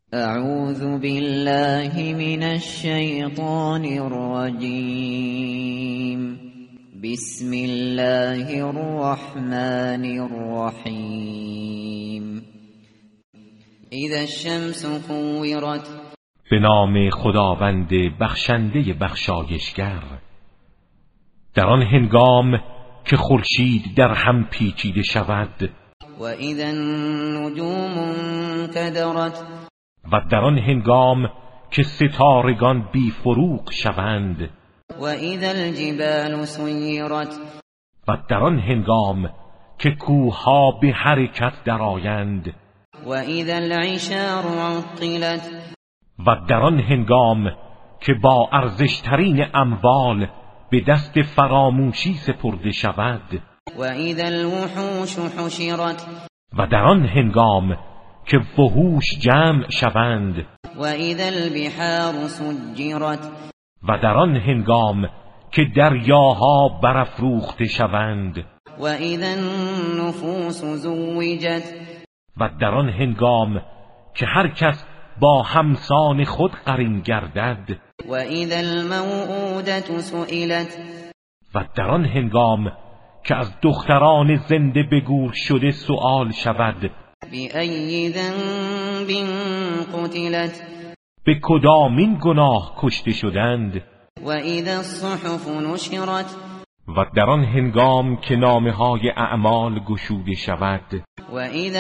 اعوذ بالله من الشیطان الرجیم. بسم الله الرحمن الرحیم. اذا الشمس كورت. به نام خداوند بخشنده بخشایشگر. در آن هنگام که خورشید در هم پیچیده شود. و اذا النجوم انکدرت. و در آن هنگام که ستارگان بی فروغ شوند. و اذا الجبال سیرت. و در آن هنگام که کوه‌ها به حرکت درآیند. و اذا العشار عطلت. و در آن هنگام که با ارزشترین اموال به دست فراموشی سپرده شود. و اذا الوحوش حشرت. و در آن هنگام که وحوش جمع شوند. و اذا البحار سجرت. و در آن هنگام که دریاها برافروخته شوند. و اذا النفوس زوجت. و در آن هنگام که هر کس با همسان خود قرین گردد. و اذا الموءودة سئلت. و در آن هنگام که از دختران زنده به گور شده سؤال شود. بأی ذنب قتلت. به کدامین گناه کشته شدند. و اذا الصحف نشرت. و در آن هنگام که نامه‌های اعمال گشوده شود. و اذا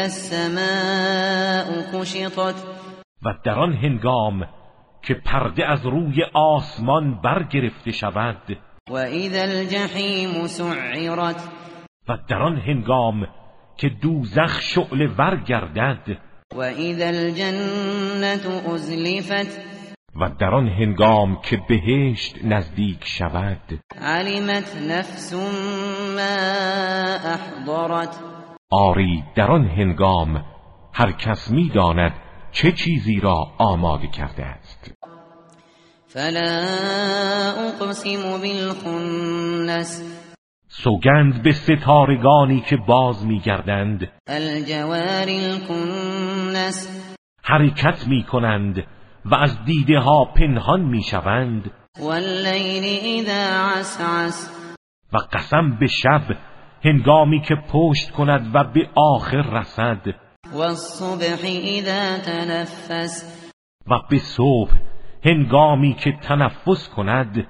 السماء کشطت. و در آن هنگام که پرده از روی آسمان برگرفته شود. و اذا الجحیم سعرت. و در آن هنگام که دوزخ شعله ور گردد. و اذا الجنة ازلفت. و در آن هنگام که بهشت نزدیک شود. علمت نفس ما احضرت. آری در آن هنگام هر کس می‌داند چه چیزی را آماده کرده است. فلا اقسم بالخنس. سوگند به ستارگانی که باز می‌گردند. الجوار الکنس. حرکت می‌کنند و از دیده ها پنهان می‌شوند. واللیل اذا عسعس. و قسم به شب هنگامی که پشت کند و به آخر رسد. والصبح اذا تنفس. و به صبح هنگامی که تنفس کند.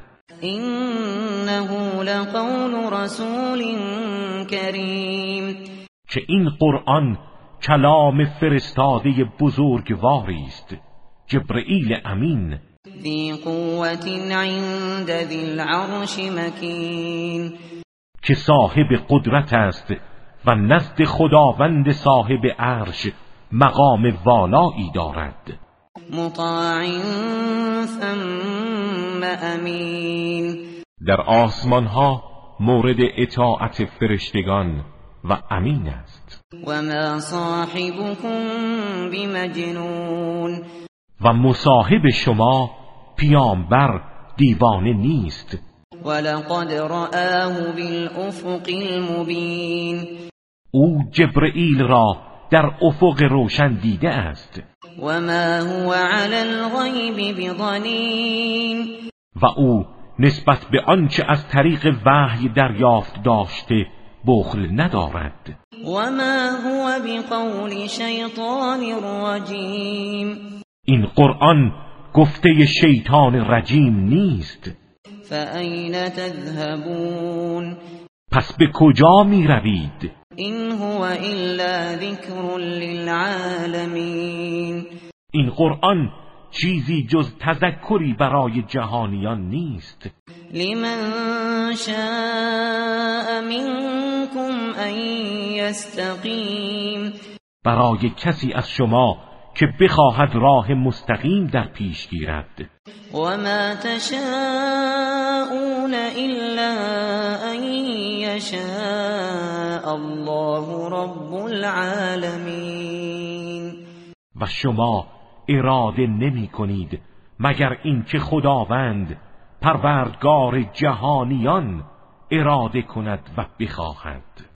انه لقول رسول کریم. که این قرآن کلام فرستاده بزرگواری است، جبرئیل امین. ذی قوة عند ذی العرش مکین. که صاحب قدرت است و نزد خداوند صاحب عرش مقام والایی دارد. مطاع ثم امین. در آسمان ها مورد اطاعت فرشتگان و امین است. و ما صاحبكم بمجنون. و مصاحب شما پیامبر دیوانه نیست. ولقد رآه بالافق المبین. او جبرئیل را در افق روشن دیده است. و ما هو علی الغیب بضنین. و او نسبت به آنچه از طریق وحی دریافت داشته بخل ندارد. و ما هو بقول شیطان رجیم. این قرآن گفته شیطان رجیم نیست. فأین تذهبون. پس به کجا می روید؟ این هو الا ذکر للعالمین. این قرآن چیزی جز تذکری برای جهانیان نیست. لمن شاء منکم ان یستقیم. برای کسی از شما که بخواهد راه مستقیم در پیش گیرد. و ما تشاءون الا ان یشاء الله رب العالمین. و شما اراده نمی کنید مگر اینکه خداوند پروردگار جهانیان اراده کند و بخواهد.